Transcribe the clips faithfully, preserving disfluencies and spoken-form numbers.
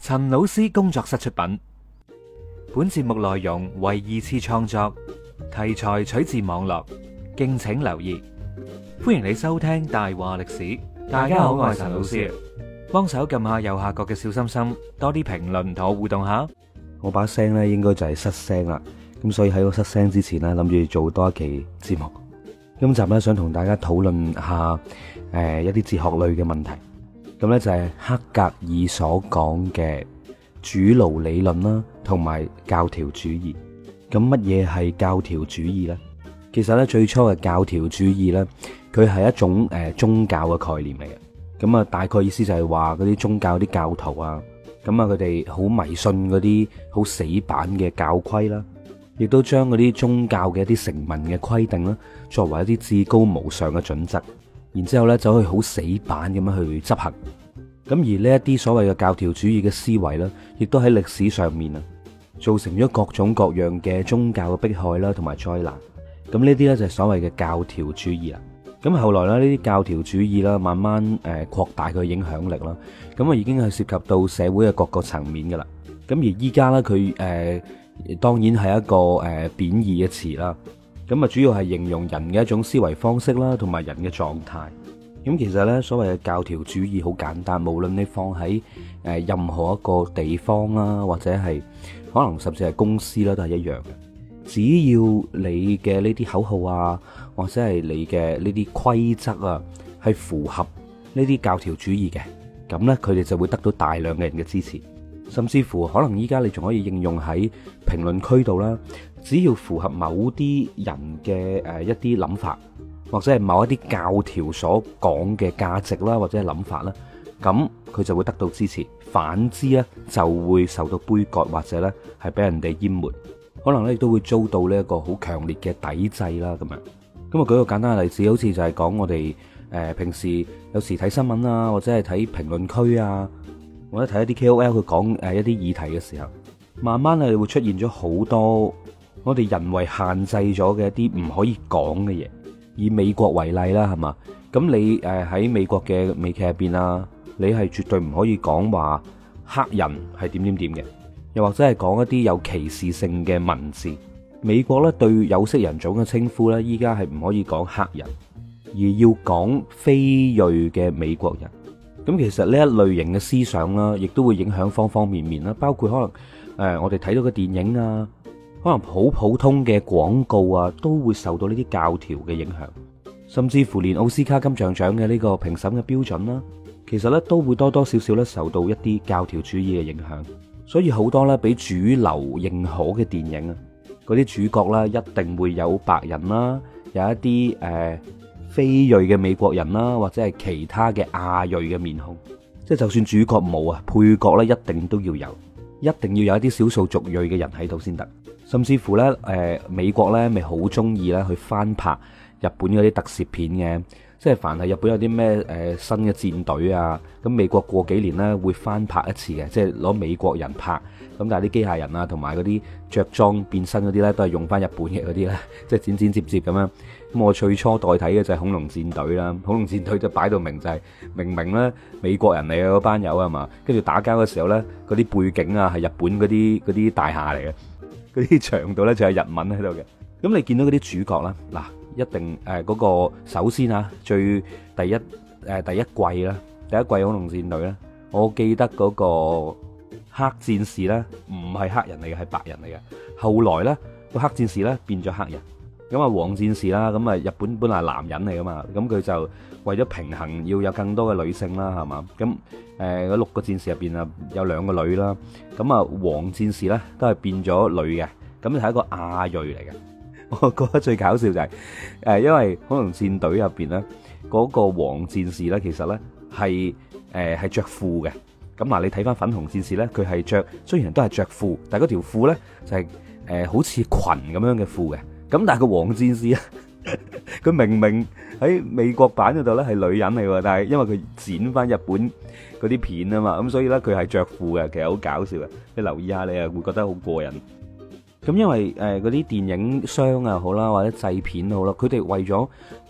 陳老師工作室出品，本節目內容為二次創作，題材取自網絡，敬請留意。歡迎你收聽大話歷史。大家好，我係陳老師，幫手撳下右下角嘅小心心，多啲評論同我互動下。 我把聲咧應該就係失聲啦，咁所以喺我失聲之前咧，諗住做多一期節目。今集咧想同大家討論下誒、呃、一啲哲學類嘅問題。咁咧就係黑格爾所講嘅主奴理論啦，同埋教條主義。咁乜嘢係教條主義呢？其實咧最初嘅教條主義咧，佢係一種誒、呃、宗教嘅概念嚟嘅。咁啊，大概意思就係話嗰啲宗教啲教徒啊，咁啊佢哋好迷信嗰啲好死板嘅教規啦，亦都將嗰啲宗教嘅一啲成文嘅規定啦，作為一啲至高無上嘅準則。然之後咧，走去好死板咁樣去執行。咁而呢一啲所謂嘅教條主義嘅思維咧，亦都喺歷史上面啊，造成咗各種各樣嘅宗教嘅迫害啦，同埋災難。咁呢啲咧就係所謂嘅教條主義啦。咁後來咧，呢啲教條主義啦，慢慢誒擴大佢影響力啦。咁啊，已經係涉及到社會嘅各個層面噶啦。咁而依家咧，佢誒當然係一個誒貶義嘅詞啦。咁啊，主要係形容人嘅一種思維方式啦，同埋人嘅狀態。咁其實咧，所謂嘅教條主義好簡單，無論你放喺誒任何一個地方啦，或者係可能甚至係公司啦，都係一樣嘅。只要你嘅呢啲口號啊，或者係你嘅呢啲規則啊，係符合呢啲教條主義嘅，咁咧佢哋就會得到大量嘅人嘅支持。甚至乎可能依家你仲可以應用喺評論區度啦。只要符合某啲人嘅誒一啲諗法，或者係某一啲教條所講嘅價值啦，或者係諗法啦，咁佢就會得到支持。反之咧，就會受到杯葛，或者咧係俾人哋淹沒，可能咧亦都會遭到呢一個好強烈嘅抵制啦。咁樣咁啊，舉個簡單嘅例子，好似就係講我哋誒平時有時睇新聞啊，或者係睇評論區啊，或者睇一啲 K O L 佢講誒一啲議題嘅時候，慢慢係會出現咗好多我哋人為限制咗嘅一啲唔可以講嘅嘢。以美國為例啦，係嘛？咁你誒喺美國嘅美劇入邊啊，你係絕對唔可以講話黑人係點點點嘅，又或者係講一啲有歧視性嘅文字。美國咧對有色人種嘅稱呼咧，依家係唔可以講黑人，而要講非裔嘅美國人。咁其實呢一類型嘅思想啦，亦都會影響方方面面啦，包括可能誒我哋睇到嘅電影啊，可能好普通嘅廣告啊，都會受到呢啲教條嘅影響，甚至乎連奧斯卡金像獎嘅呢個評審嘅標準啦，其實咧都會多多少少咧受到一啲教條主義嘅影響。所以好多咧俾主流認可嘅電影啊，嗰啲主角啦一定會有白人啦，有一啲誒、呃、非裔嘅美國人啦，或者係其他嘅亞裔嘅面孔。即係就算主角冇啊，配角咧一定都要有，一定要有一啲少數族裔嘅人喺度先得。甚至乎咧，誒、呃、美國咧咪好中意咧去翻拍日本嗰啲特攝片嘅，即係凡係日本有啲咩誒新嘅戰隊啊，咁美國過幾年咧會翻拍一次嘅，即係攞美國人拍，咁但係啲機械人啊同埋嗰啲着裝變身嗰啲咧都係用翻日本嘅嗰啲咧，即係剪剪接接咁樣。咁我最初代睇嘅就係恐龍戰隊啦，恐龍戰隊就擺到明就係明明咧美國人嚟嘅嗰班友係嘛，跟住打交嘅時候咧嗰啲背景啊係日本嗰啲嗰啲大廈嚟嘅。嗰啲牆度咧就有日文喺度嘅。咁你見到嗰啲主角啦，嗱一定誒嗰、呃那個首先啊，最第一誒、呃、第一季啦，第一季恐龍戰隊咧，我記得嗰個黑戰士咧唔係黑人嚟嘅，係白人嚟嘅。後來咧個黑戰士咧變咗黑人，咁啊黃戰士啦，咁啊日本本來係男人嚟噶嘛，咁佢就為咗平衡要有更多嘅女性啦，係嘛？咁誒嗰六個戰士入邊啊有兩個女啦，咁啊黃戰士咧都係變咗女嘅，咁就係一個亞裔嚟嘅。我覺得最搞笑就係誒，因為恐龍戰隊入邊咧嗰個黃戰士咧，其實咧係誒係着褲嘅。咁嗱，你睇翻粉紅戰士咧，佢係着雖然都係着褲，但係嗰條褲咧就係誒好似裙咁樣嘅褲嘅。咁但係個黃戰士咧，佢明明喺美國版嗰度咧係女人嚟喎，但係因為佢剪翻日本嗰啲片啊嘛，咁所以咧佢係着褲嘅，其實好搞笑嘅。你留意下，你啊會覺得好過癮。咁因為誒嗰啲電影商啊好啦，或者製片好啦，佢哋為咗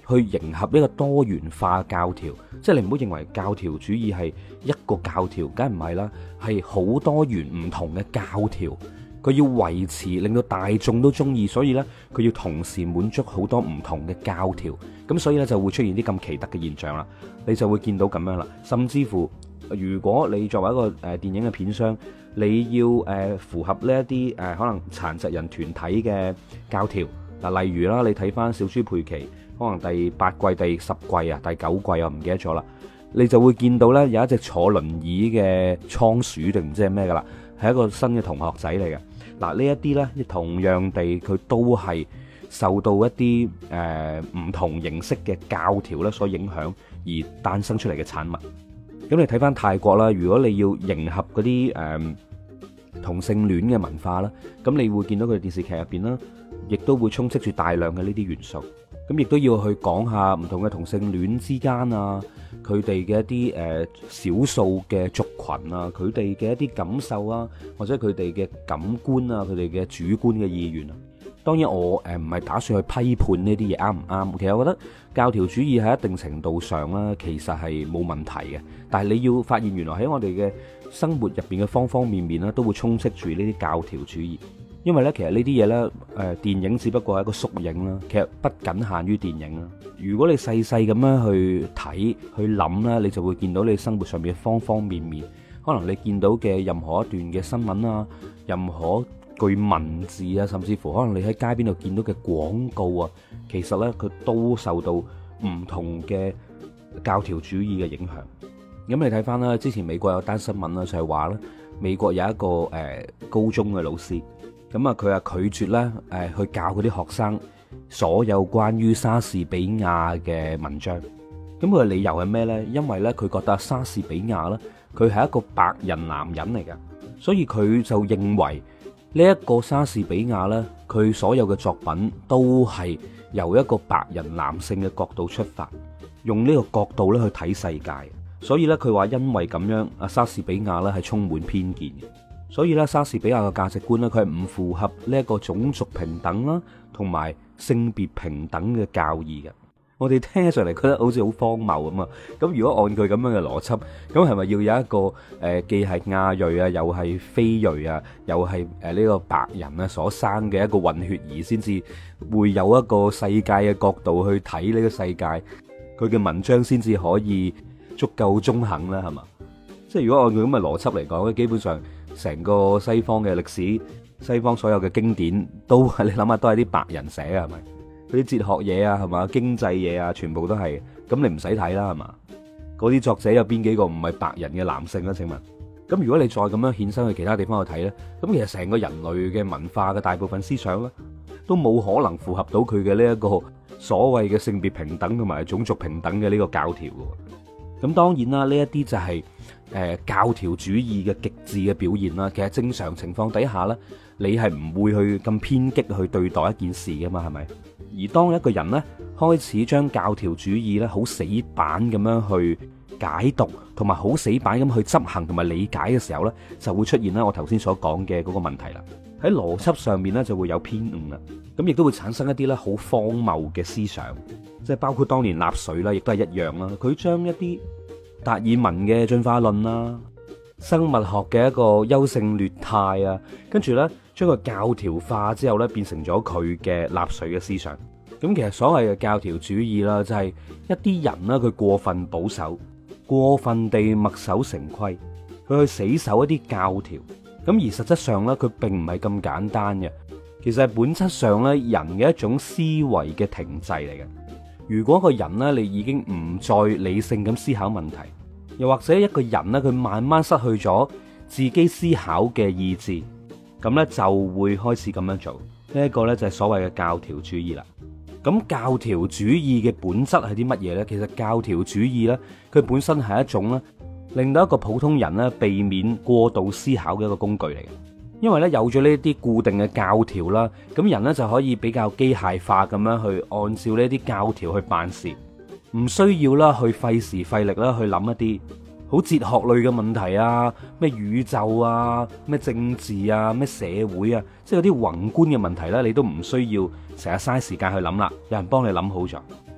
去迎合一個多元化教條，即係你唔好認為教條主義係一個教條，梗係唔係啦，係好多元唔同嘅教條，佢要維持令到大眾都中意，所以呢，佢要同時滿足好多唔同嘅教條，咁所以呢，就會出現啲咁奇特嘅現象啦，你就會見到咁樣啦，甚至乎如果你作為一個誒電影嘅片商，你要誒符合呢一啲誒可能殘疾人團體嘅教條，嗱，例如啦，你睇翻小豬佩奇，可能第八季、第十季啊、第九季我唔記得咗啦，你就會見到呢有一隻坐輪椅嘅倉鼠定唔知係咩噶啦，係一個新嘅同學仔嚟嘅。嗱，呢一啲呢，同樣地佢都係受到一啲誒唔同形式嘅教條咧所影響而誕生出嚟嘅產物。咁你睇翻泰國啦，如果你要迎合嗰啲誒同性戀嘅文化啦，咁你會見到佢哋電視劇入邊啦，亦都會充斥住大量嘅呢啲元素。咁亦都要去講下唔同嘅同性戀之間啊，佢哋嘅一啲誒少數嘅族群啊，佢哋嘅一啲感受啊，或者佢哋嘅感官啊，佢哋嘅主觀嘅意願啊。當然我誒唔係打算去批判呢啲嘢啱唔啱，其實我覺得教條主義喺一定程度上啦，其實係冇問題嘅。但係你要發現原來喺我哋嘅生活入邊嘅方方面面啦，都會充斥住呢啲教條主義。因為咧，其實呢啲嘢咧，誒電影只不過係一個縮影啦，其實不僅限於電影啦。如果你細細咁樣去睇去諗啦，你就會見到你生活上面嘅方方面面。可能你見到嘅任何一段嘅新聞啊，任何句文字啊，甚至乎可能你喺街邊度見到嘅廣告啊，其實呢，佢都受到唔同嘅教條主義嘅影響。咁你睇翻啦，之前美國有單新聞啦，就係話咧，美國有一個誒、呃、高中嘅老師，咁啊佢啊拒絕咧誒去教嗰啲學生所有關於莎士比亞嘅文章。咁佢嘅理由係咩呢？因為咧佢覺得莎士比亞咧，佢係一個白人男人嚟嘅，所以佢就認為呢一個莎士比亞咧，佢所有嘅作品都係由一個白人男性嘅角度出發，用呢個角度咧去睇世界。所以咧佢話因為咁樣，阿莎士比亞咧係充滿偏見嘅。所以咧莎士比亞嘅價值觀咧，佢係唔符合呢一個種族平等啦，同埋性別平等嘅教義嘅。我哋聽上嚟覺得好似好荒謬咁啊！咁如果按佢咁樣嘅邏輯，咁係咪要有一個誒、呃、既係亞裔啊，又係非裔啊，又係誒呢個白人啊所生嘅一個混血兒，先至會有一個世界嘅角度去睇呢個世界，佢嘅文章先至可以足夠中肯啦，係嘛？即係如果按佢咁嘅邏輯嚟講咧，基本上成個西方嘅歷史、西方所有嘅經典都係你諗下，都係啲白人寫嘅，係咪？嗰啲哲學嘢啊，係嘛，經濟嘢啊，全部都係。咁你唔使睇啦，係嘛？嗰啲作者有邊幾個唔係白人嘅男性咧？請問，咁如果你再咁樣衍生去其他地方去睇咧，咁其實成個人類嘅文化嘅大部分思想咧，都冇可能符合到佢嘅呢一個所謂嘅性別平等同埋種族平等嘅呢個教條嘅。咁當然啦，呢一啲就係誒教條主義嘅極致嘅表現啦。其實正常情況底下咧，你係唔會去咁偏激去對待一件事噶嘛，係咪？而當一個人咧開始將教條主義咧好死板咁樣去解讀，同埋好死板咁去執行同埋理解嘅時候咧，就會出現咧我頭先所講嘅嗰個問題啦。喺邏輯上面咧就會有偏誤啦，咁亦都會產生一啲咧好荒謬嘅思想，即係包括當年納粹啦，亦都係一樣啦。佢將一啲達爾文嘅進化論啦、生物學嘅一個優勝劣汰啊，跟住咧將佢教條化之後咧，變成咗佢嘅納粹嘅思想。咁其實所謂嘅教條主義啦，就係一啲人啦，佢過分保守，過分地墨守成規，佢去死守一啲教條。咁而實質上咧，佢並唔係咁簡單嘅。其實係本質上咧，人嘅一種思維嘅停滯嚟嘅。如果個人咧，你已經唔再理性咁思考問題，又或者一個人咧，佢慢慢失去咗自己思考嘅意志，咁咧就會開始咁樣做。呢一個咧就係所謂嘅教條主義啦。咁教條主義嘅本質係啲乜嘢呢？其實教條主義呢，佢本身係一種咧，令到一個普通人咧避免過度思考嘅一個工具嚟嘅。因為咧有咗呢啲固定嘅教條啦，咁人咧就可以比較機械化咁樣去按照呢啲教條去辦事，唔需要啦去費時費力啦去諗一啲好哲學類嘅問題啊，咩宇宙啊，咩政治啊，咩社會啊，即係有啲宏觀嘅問題咧，你都唔需要成日嘥時間去諗啦，有人幫你諗好咗。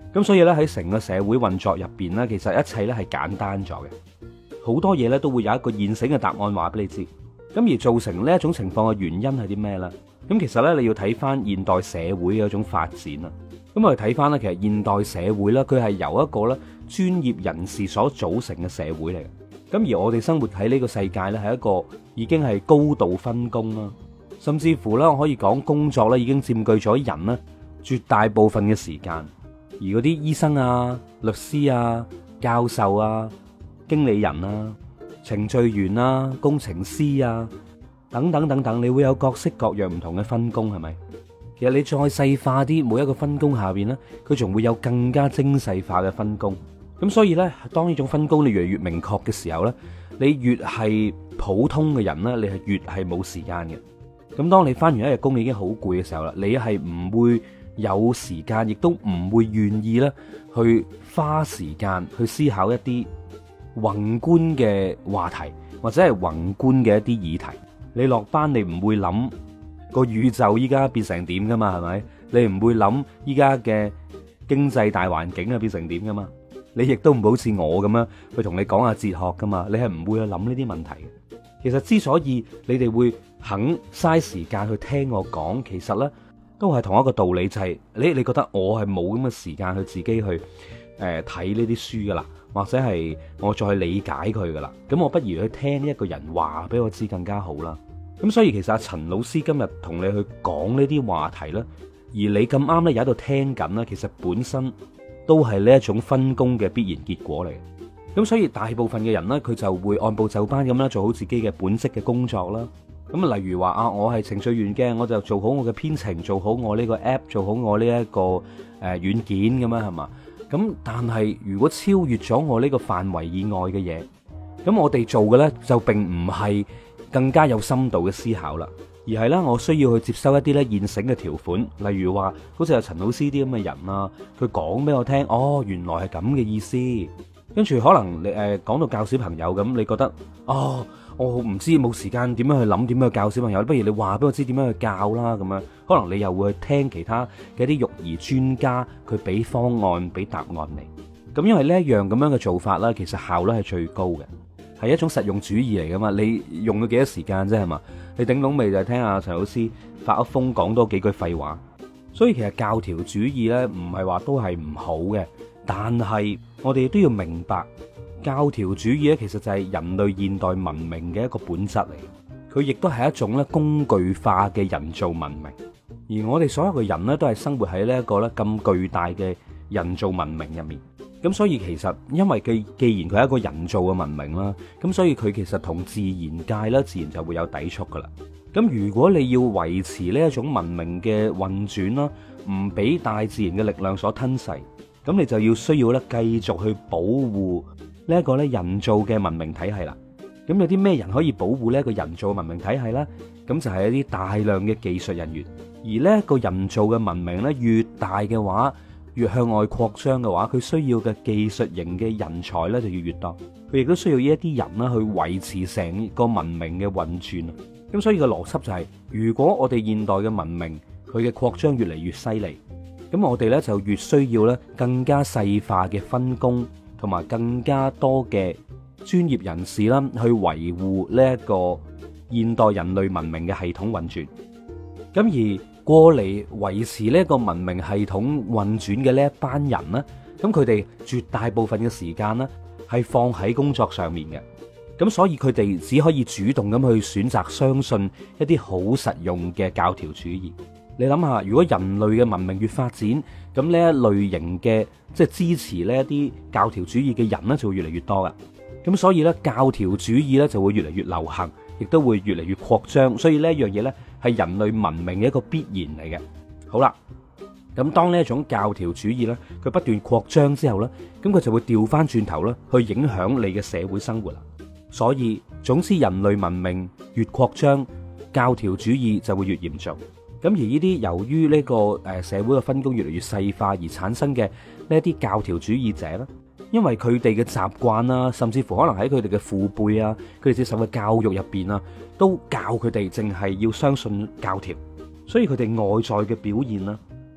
咁所以咧喺成個社會運作入邊咧，其實一切咧係簡單咗嘅，好多嘢咧都會有一個現成嘅答案話俾你知。咁而造成呢一種情況嘅原因係啲咩呢？咁其實咧你要睇翻現代社會嘅一種發展啦。咁我哋睇翻咧，其實現代社會咧，佢係由一個咧專業人士所組成嘅社會嚟嘅。咁而我哋生活喺呢個世界咧，係一個已經係高度分工啦，甚至乎咧我可以講工作咧已經佔據咗人咧絕大部分嘅時間。而嗰啲醫生啊、律師啊、教授啊、經理人啊、程序員啊、工程師啊等等等等，你會有各式各樣唔同嘅分工，係咪？其實你再細化啲，每一個分工下邊呢，佢仲會有更加精細化嘅分工。咁所以呢，當呢種分工你越嚟越明確嘅時候呢，你越係普通嘅人呢，你係越係冇時間嘅。咁當你翻完一日工，你已經好攰嘅時候啦，你係唔會有時間，亦都唔會願意咧去花時間去思考一啲宏觀嘅話題，或者係宏觀嘅一啲議題。你落班你唔會諗個宇宙依家變成點噶嘛，係咪？你唔會諗依家嘅經濟大環境啊變成點噶嘛？你亦都唔好似我咁樣去同你講下哲學噶嘛？你係唔會去諗呢啲問題嘅。其實之所以你哋會肯嘥時間去聽我講，其實呢都係同一個道理，就係你你覺得我係冇咁嘅時間去自己去誒睇呢啲書噶啦，或者係我再去理解佢噶啦。咁我不如去聽一個人話俾我知更加好啦。咁所以其實阿陳老師今日同你去講呢啲話題呢，而你咁啱呢，又喺度聽緊呢，其實本身都係呢一種分工嘅必然結果嚟。咁所以大部分嘅人呢，佢就會按部就班咁啦，做好自己嘅本職嘅工作啦。咁例如話啊，我係程序員嘅，我就做好我嘅編程，做好我呢個 app，做好我呢一個誒軟件咁樣係嘛。咁但係如果超越咗我呢個範圍以外嘅嘢，咁我哋做嘅呢，就並唔係更加有深度嘅思考啦，而係呢，我需要去接收一啲呢現成嘅條款，例如話好似阿陳老師啲咁嘅人啊，佢講俾我聽，哦，原來係咁嘅意思。跟住可能你誒講到教小朋友咁，你覺得哦，我唔知冇時間點樣去諗點樣去教小朋友，不如你話俾我知點樣去教啦咁樣。可能你又會去聽其他嘅一啲育兒專家，佢俾方案俾答案你。咁因為呢一樣咁樣嘅做法啦，其實效率係最高嘅，係一種實用主義嚟噶嘛。你用咗幾多時間啫係嘛？你頂籠未就係聽阿陳老師發一瘋講多幾句廢話。所以其實教條主義呢，唔係話都係唔好嘅。但係我哋都要明白，教條主義咧，其實就係人類現代文明嘅一個本質嚟。佢亦都係一種咧工具化嘅人造文明。而我哋所有嘅人咧，都係生活喺呢一個咧咁巨大嘅人造文明入面。咁所以其實，因為佢既然佢係一個人造嘅文明啦，咁所以佢其實同自然界咧，自然就會有抵觸噶啦。咁如果你要維持呢一種文明嘅運轉啦，唔俾大自然嘅力量所吞噬。咁你就要需要咧繼續去保護呢一個咧人造嘅文明體系啦。咁有啲咩人可以保護呢一個人造嘅文明體系呢？咁就係一啲大量嘅技術人員。而呢一個人造嘅文明咧越大嘅話，越向外擴張嘅話，佢需要嘅技術型嘅人才咧就要越多。佢亦都需要呢一啲人啦去維持成個文明嘅運轉。咁所以個邏輯就係，如果我哋現代嘅文明佢嘅擴張越嚟越犀利，咁我哋咧就越需要咧更加細化嘅分工，同埋更加多嘅專業人士啦，去維護呢一個現代人類文明嘅系統運轉。咁而過嚟維持呢一個文明系統運轉嘅呢一班人呢，咁佢哋絕大部分嘅時間呢係放喺工作上面嘅。咁所以佢哋只可以主動咁去選擇相信一啲好實用嘅教條主義。你諗下，如果人類嘅文明越發展，咁呢一類型嘅即係支持呢一啲教條主義嘅人呢，就會越嚟越多噶。咁所以呢，教條主義呢就會越嚟越流行，亦都會越嚟越擴張。所以呢一樣嘢呢，係人類文明嘅一個必然嚟嘅。好啦，咁當呢一種教條主義呢，佢不斷擴張之後呢，咁佢就會調翻轉頭啦，去影響你嘅社會生活啦。所以總之，人類文明越擴張，教條主義就會越嚴重。咁而呢啲由於呢個誒社會嘅分工越嚟越細化而產生嘅呢一啲教條主義者咧，因為佢哋嘅習慣啦，甚至乎可能喺佢哋嘅父輩啊，佢哋接受嘅教育入邊啊，都教佢哋淨係要相信教條，所以佢哋外在嘅表現啦，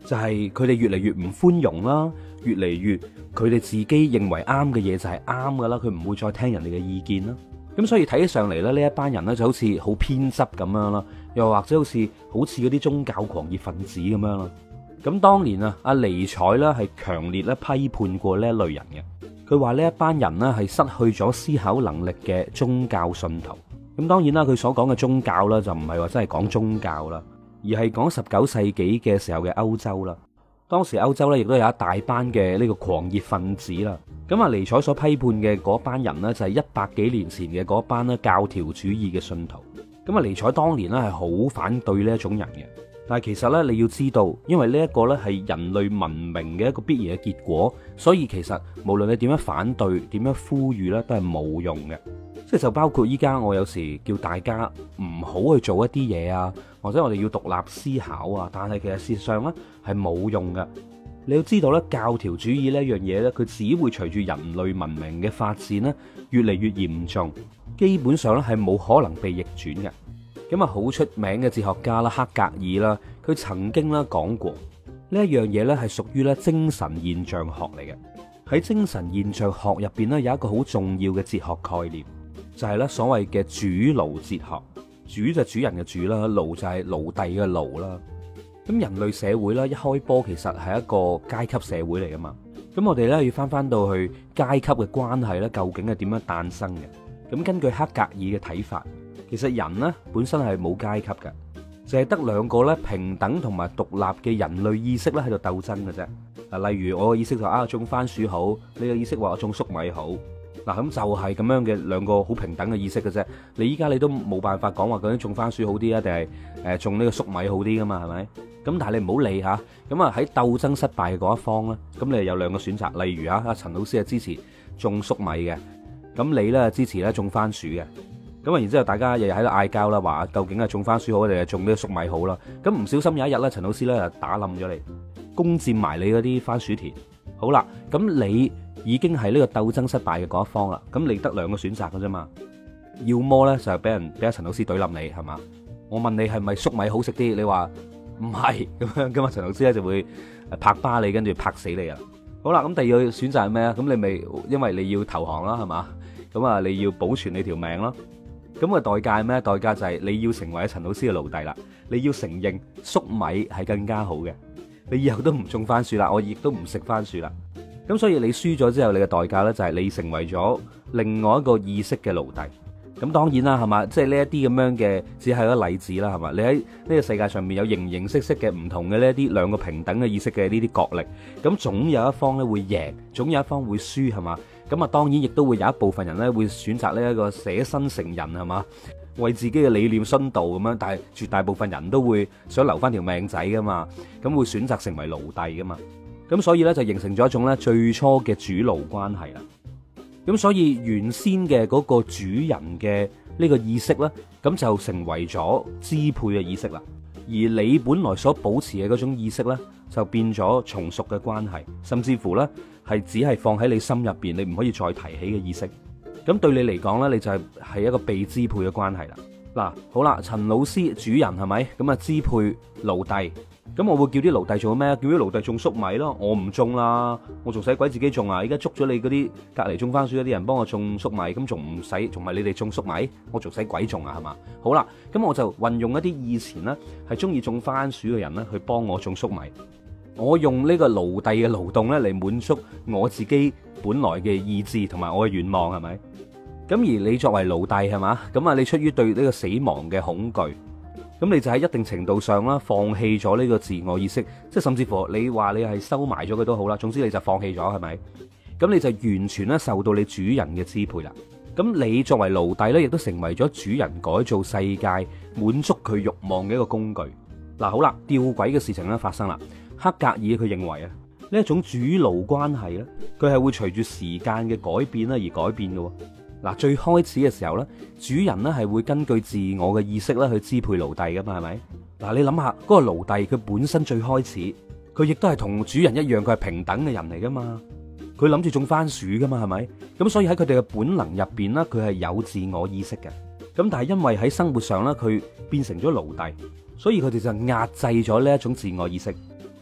就係佢哋越嚟越唔寬容啦，越嚟越佢哋自己認為啱嘅嘢就係啱噶啦，佢唔會再聽人哋嘅意見啦。咁所以睇起上嚟咧，呢一班人咧就好似好偏執咁樣啦，又或者好似好似嗰啲宗教狂熱分子咁樣啦。咁當年啊，阿尼采咧係強烈咧批判過呢一類人嘅，佢話呢一班人咧係失去咗思考能力嘅宗教信徒。咁當然啦，佢所講嘅宗教啦就唔係話真係講宗教啦，而係講十九世紀嘅時候嘅歐洲啦。當時歐洲咧亦都有一大班嘅呢個狂熱分子啦。咁啊，尼采所批判嘅嗰班人呢，就係一百幾年前嘅嗰班咧教條主義嘅信徒。咁啊，尼采當年咧係好反對呢一種人嘅。但係其實咧，你要知道，因為呢一個咧係人類文明嘅一個必然嘅結果，所以其實無論你點樣反對、點樣呼籲咧，都係冇用嘅。即係就包括依家我有時叫大家唔好去做一啲嘢啊，或者我哋要獨立思考啊，但係其實事實上咧係冇用嘅。你要知道咧，教條主義呢一樣嘢咧，佢只會隨住人類文明嘅發展咧越嚟越嚴重，基本上咧係冇可能被逆轉嘅。咁啊，好出名嘅哲學家啦，黑格爾啦，佢曾經啦講過呢一樣嘢咧係屬於咧精神現象學嚟嘅。喺精神現象學入邊咧有一個好重要嘅哲學概念，就係咧所謂嘅主奴哲學。主就主人嘅主啦，奴就係奴隸嘅奴啦。咁人類社會咧一開波其實係一個階級社會嚟噶嘛。咁我哋咧要翻翻到去階級嘅關係咧，究竟係點樣誕生嘅？咁根據黑格爾嘅睇法，其實人呢本身係冇階級嘅，淨係得兩個咧平等同埋獨立嘅人類意識咧喺度鬥爭嘅啫。啊，例如我嘅意識就啊種番薯好，你嘅意識話我種粟米好。嗱，咁就係咁樣嘅兩個好平等嘅意識嘅啫。你依家你都冇辦法講話究竟種番薯好啲啊，定係誒種呢個粟米好啲噶嘛？係咪？咁但係你唔好理吓，咁啊喺鬥爭失敗嘅嗰一方咧，咁你有兩個選擇。例如啊，阿陳老師係支持種粟米嘅，咁你咧支持咧種番薯嘅。咁啊，然之後大家日日喺度嗌交啦，話究竟係種番薯好定係種呢個粟米好啦？咁唔小心有一日咧，陳老師咧就打冧咗你，攻佔埋你嗰啲番薯田。好啦，咁你已經係呢個鬥爭失敗嘅嗰一方啦。咁你得兩個選擇嘅啫嘛，要麼咧就係俾人俾阿陳老師懟冧你，係嘛？我問你係咪粟米好食啲？你話唔係咁樣，咁啊陳老師咧就會拍巴你，跟住拍死你啊！好啦，咁第二個選擇係咩啊？咁你咪因為你要投降啦，係嘛？咁啊你要保存你條命咯。咁個代價係咩？代價就係你要成為陳老師嘅奴隸啦。你要承認粟米係更加好嘅，你以後都唔種番薯啦，我亦都唔食番薯啦。咁所以你輸咗之後，你嘅代價呢，就係你成為咗另外一個意識嘅奴隸。咁當然啦，係嘛？即係呢一啲咁樣嘅，只係一個例子啦，係嘛？你喺呢個世界上面有形形色色嘅唔同嘅呢一啲兩個平等嘅意識嘅呢啲角力，咁總有一方咧會贏，總有一方會輸，係嘛？咁啊，當然亦都會有一部分人咧會選擇呢一個捨身成仁，係嘛？為自己嘅理念殉道咁樣，但係絕大部分人都會想留翻條命仔噶嘛，咁會選擇成為奴隸噶嘛。咁所以咧就形成咗一種咧最初嘅主奴關係啦。咁所以原先嘅嗰個主人嘅呢個意識咧，咁就成為咗支配嘅意識啦。而你本來所保持嘅嗰種意識咧，就變咗從屬嘅關係，甚至乎咧係只係放喺你心入邊，你唔可以再提起嘅意識。咁對你嚟講咧，你就係係一個被支配嘅關係啦。嗱，好啦，陳老師主人係咪？咁啊支配奴隸。咁我會叫啲奴隸做咩？叫啲奴隸種粟米咯。我唔種啦，我仲使鬼自己種啊？而家捉咗你嗰啲隔籬種番薯嗰啲人幫我種粟米，咁仲唔使？仲係你哋種粟米？我仲使鬼種啊？係嘛？好啦，咁我就運用一啲以前呢係中意種番薯嘅人呢去幫我種粟米。我用呢個奴隸嘅勞動呢嚟滿足我自己本來嘅意志同埋我嘅願望，係咪？咁而你作為奴隸係嘛？咁啊，你出於對呢個死亡嘅恐懼。咁你就喺一定程度上啦，放棄咗呢個自我意識，即係甚至乎你話你係收埋咗佢都好啦，總之你就放棄咗，係咪？咁你就完全咧受到你主人嘅支配啦。咁你作為奴隸咧，亦都成為咗主人改造世界、滿足佢慾望嘅一個工具。嗱，好啦，吊詭嘅事情咧發生啦。黑格爾佢認為啊，呢一種主奴關係咧，佢係會隨住時間嘅改變咧而改變嘅。嗱，最開始嘅時候咧，主人咧係會根據自我嘅意識咧去支配奴隸噶嘛，係咪？嗱，你諗下嗰個奴隸佢本身最開始，佢亦都係同主人一樣，佢係平等嘅人嚟噶嘛，佢諗住種番薯噶嘛，係咪？咁所以喺佢哋嘅本能入邊咧，佢係有自我意識嘅。咁但係因為喺生活上咧，佢變成咗奴隸，所以佢哋就壓制咗呢一種自我意識。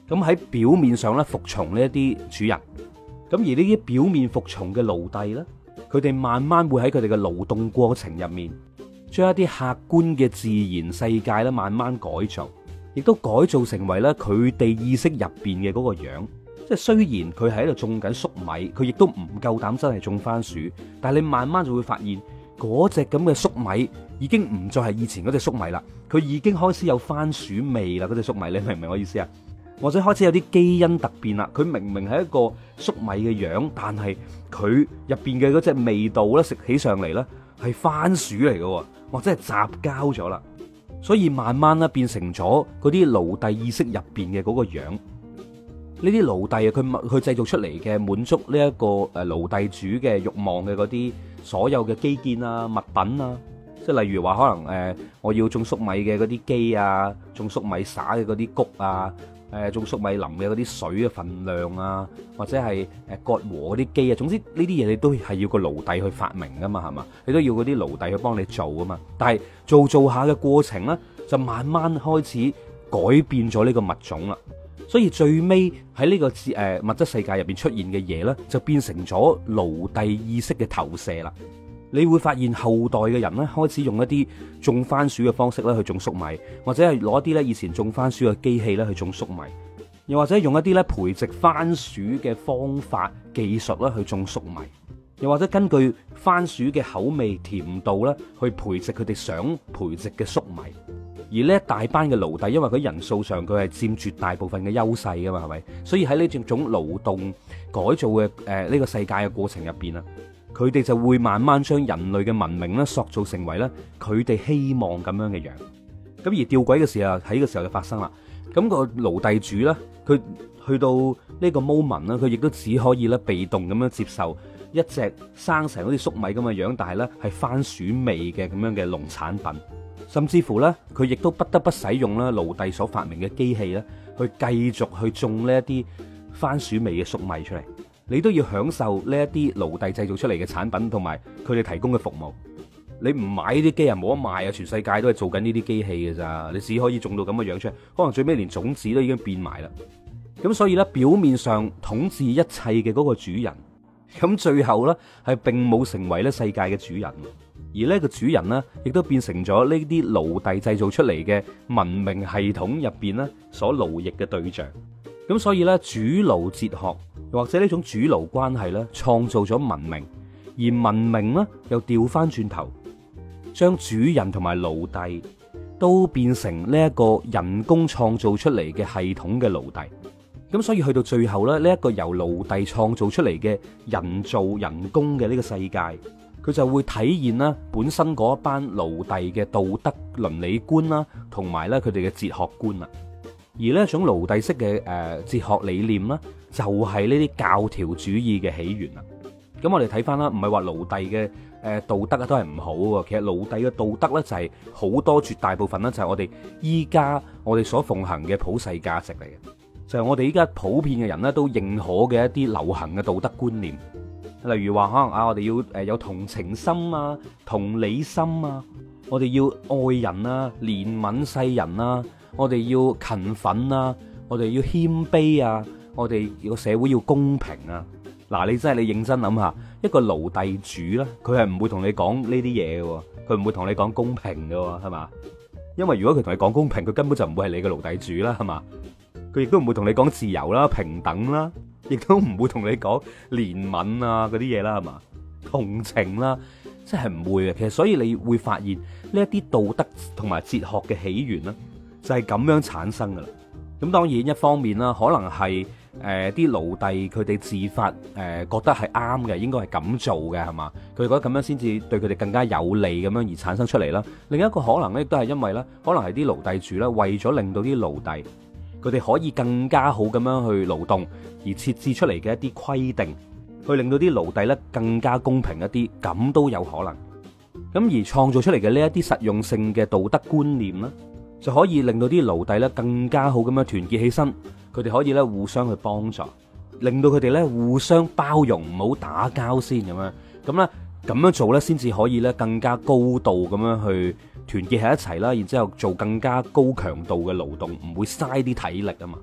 咁喺表面上咧服從呢一啲主人，咁而呢啲表面服從嘅奴隸咧，佢哋慢慢會喺佢哋嘅勞動過程入面，將一啲客觀嘅自然世界咧慢慢改造，亦都改造成為咧佢哋意識入邊嘅嗰個樣。即係雖然佢喺度種緊粟米，佢亦都唔夠膽真係種番薯，但係你慢慢就會發現嗰隻咁嘅粟米已經唔再係以前嗰隻粟米啦，佢已經開始有番薯味啦。嗰隻粟米，你明唔明我意思啊？或者開始有啲基因突變啦，佢明明係一個粟米嘅樣，但係佢入邊嘅嗰隻味道咧，食起上嚟咧係番薯嚟嘅，或者係雜交咗啦。所以慢慢咧變成咗嗰啲奴隸意識入邊嘅嗰個樣。呢啲奴隸啊，佢佢製造出嚟嘅滿足呢一個誒奴隸主嘅慾望嘅嗰啲所有嘅基建啊、物品啊，即係例如話可能誒、呃、我要種粟米嘅嗰啲機啊，種粟米撒嘅嗰啲谷啊。誒種粟米林嘅嗰啲水嘅份量啊，或者係誒割禾嗰啲機啊，總之呢啲嘢你都係要個奴隸去發明噶嘛，係嘛？你都要嗰啲奴隸去幫你做噶嘛。但係做做下嘅過程咧，就慢慢開始改變咗呢個物種啦。所以最尾喺呢個誒物質世界入邊出現嘅嘢咧，就變成咗奴隸意識嘅投射啦。你會發現後代嘅人咧，開始用一啲種番薯嘅方式咧去種粟米，或者係攞一啲咧以前種番薯嘅機器咧去種粟米，又或者用一啲咧培植番薯嘅方法技術咧去種粟米，又或者根據番薯嘅口味甜度咧去培植佢哋想培植嘅粟米。而呢一大班嘅奴隸，因為佢人數上佢係佔絕大部分嘅優勢噶嘛，係咪？所以喺呢種種勞動改造嘅誒呢個世界嘅過程入邊啊，佢哋就會慢慢將人類嘅文明咧塑造成為咧佢哋希望咁樣嘅樣。咁而吊詭嘅事啊喺呢個時候就發生啦。咁個奴隸主咧，佢去到呢個 moment 咧，佢亦都只可以咧被動咁樣接受一隻生成好似粟米咁嘅樣，但係咧係番薯味嘅咁樣嘅農產品。甚至乎咧，佢亦都不得不使用咧奴隸所發明嘅機器咧，去繼續去種呢一啲番薯味嘅粟米出嚟。你都要享受呢一啲奴隸製造出嚟嘅產品，同埋佢哋提供嘅服務。你唔買呢啲機啊，冇得賣啊！全世界都係做緊呢啲機器嘅咋，你只可以種到咁嘅樣出嚟，可能最尾連種子都已經變埋啦。咁所以咧，表面上統治一切嘅嗰個主人，咁最後咧係並冇成為咧世界嘅主人。而呢個主人呢，亦都變成咗呢啲奴隸製造出嚟嘅文明系統入邊呢所奴役嘅對象。咁所以呢，主奴哲學或者呢種主奴關係呢，創造咗文明，而文明呢，又調翻轉頭，將主人同埋奴隸都變成呢一個人工創造出嚟嘅系統嘅奴隸。咁所以去到最後咧，呢一個由奴隸創造出嚟嘅人造人工嘅呢個世界，佢就會體現啦本身嗰一班奴隸嘅道德倫理觀啦，同埋咧佢哋嘅哲學觀啦。而呢一種奴隸式嘅誒哲學理念啦，就係呢啲教條主義嘅起源啦。咁我哋睇翻啦，唔係話奴隸嘅誒道德啊都係唔好喎。其實奴隸嘅道德咧就係好多絕大部分咧就係我哋依家我哋所奉行嘅普世價值嚟嘅，就係我哋依家普遍嘅人咧都認可嘅一啲流行嘅道德觀念。例如話可能啊，我哋要誒有同情心啊、同理心啊，我哋要愛人啊、憐憫世人啊，我哋要勤奮啊，我哋要謙卑啊，我哋個社會要公平啊。嗱，你真係你認真諗下，一個奴隸主咧，佢係唔會同你講呢啲嘢嘅，佢唔會同你講公平嘅，係嘛？因為如果佢同你講公平，佢根本就唔會係你嘅奴隸主啦，係嘛？佢亦都唔會同你講自由啦、平等啦。亦都唔會同你講憐憫啊嗰啲嘢啦，係嘛？同情啦，即係唔會嘅。其實所以你會發現呢一啲道德同埋哲學嘅起源啦，就係咁樣產生噶啦。咁當然一方面啦，可能係誒啲奴隸佢哋自發誒、呃、覺得係啱嘅，應該係咁做嘅，係嘛？佢哋覺得咁樣先至對佢哋更加有利咁樣而產生出嚟啦。另一個可能咧，亦都係因為咧，可能係啲奴隸主咧，為咗令到啲奴隸佢哋可以更加好咁樣去勞動，而設置出嚟嘅一啲規定，去令到啲奴隸咧更加公平一啲，咁都有可能。咁而創造出嚟嘅呢一啲實用性嘅道德觀念咧，就可以令到啲奴隸咧更加好咁樣團結起身，佢哋可以咧互相去幫助，令到佢哋咧互相包容，唔好打交先咁樣。咁咧咁樣做咧，先至可以咧更加高度咁樣去團結喺一齊啦，然之後做更加高強度嘅勞動，唔會嘥啲體力啊嘛。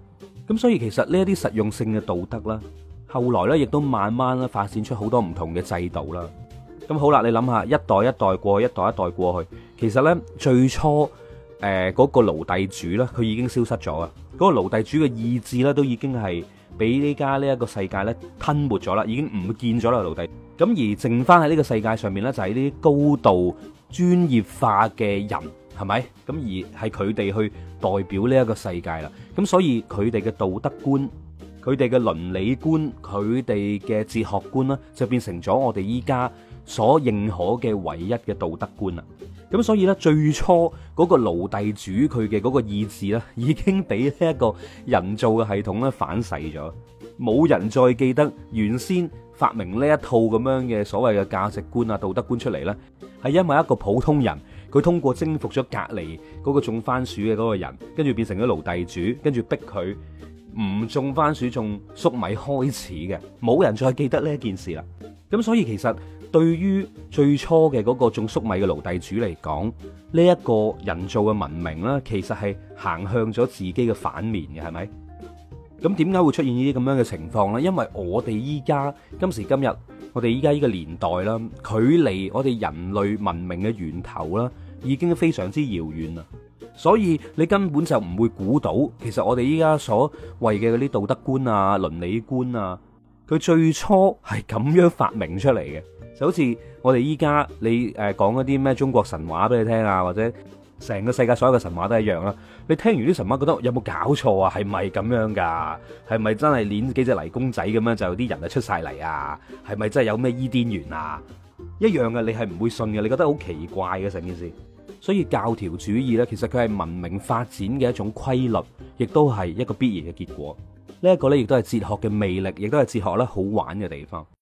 咁所以其實呢一啲實用性嘅道德啦，後來咧亦都慢慢咧發展出好多唔同嘅制度啦。咁好啦，你諗下，一代一代過去，一代一代過去，其實咧最初誒嗰、呃嗰個奴隸主咧，佢已經消失咗啊！嗰、嗰個奴隸主嘅意志咧，都已經係俾呢家呢一個世界咧吞沒咗啦，已經唔見咗啦奴隸。咁而剩翻喺呢個世界上面咧，就係呢啲高度專業化嘅人，係咪？咁而係佢哋去代表呢一個世界啦。咁所以佢哋嘅道德觀、佢哋嘅倫理觀、佢哋嘅哲學觀啦，就變成咗我哋依家所認可嘅唯一嘅道德觀啦。咁所以咧，最初嗰個奴隸主佢嘅嗰個意志咧，已經俾呢一個人造嘅系統咧反噬咗，冇人再記得原先發明呢一套咁樣嘅所謂嘅價值觀啊、道德觀出嚟呢，係因為一個普通人，佢通過征服咗隔離嗰個種番薯嘅嗰個人，跟住變成咗奴隸主，跟住逼佢唔種番薯種粟米開始嘅，冇人再記得呢一件事啦。咁所以其實對於最初嘅嗰個種粟米嘅奴隸主嚟講，呢一個人造嘅文明呢，其實係行向咗自己嘅反面嘅，係咪？咁點解會出現呢啲咁樣嘅情況呢？因為我哋依家今時今日，我哋依家呢個年代啦，距離我哋人類文明嘅源頭啦，已經非常之遙遠啦。所以你根本就唔會估到，其實我哋依家所謂嘅嗰啲道德觀啊、倫理觀啊，佢最初係咁樣發明出嚟嘅。就好似我哋依家你誒講嗰啲咩中國神話俾你聽啊，或者成個世界所有嘅神話都一樣啦。你聽完啲神話覺得有冇搞錯啊？係咪咁樣噶？係咪真係捏幾隻泥公仔咁樣就有啲人就出晒嚟啊？係咪真係有咩伊甸園啊？一樣嘅，你係唔會信嘅，你覺得好奇怪嘅成件事。所以教條主義呢，其實佢係文明發展嘅一種規律，亦都係一個必然嘅結果。呢一個呢，亦都係哲學嘅魅力，亦都係哲學咧好玩嘅地方。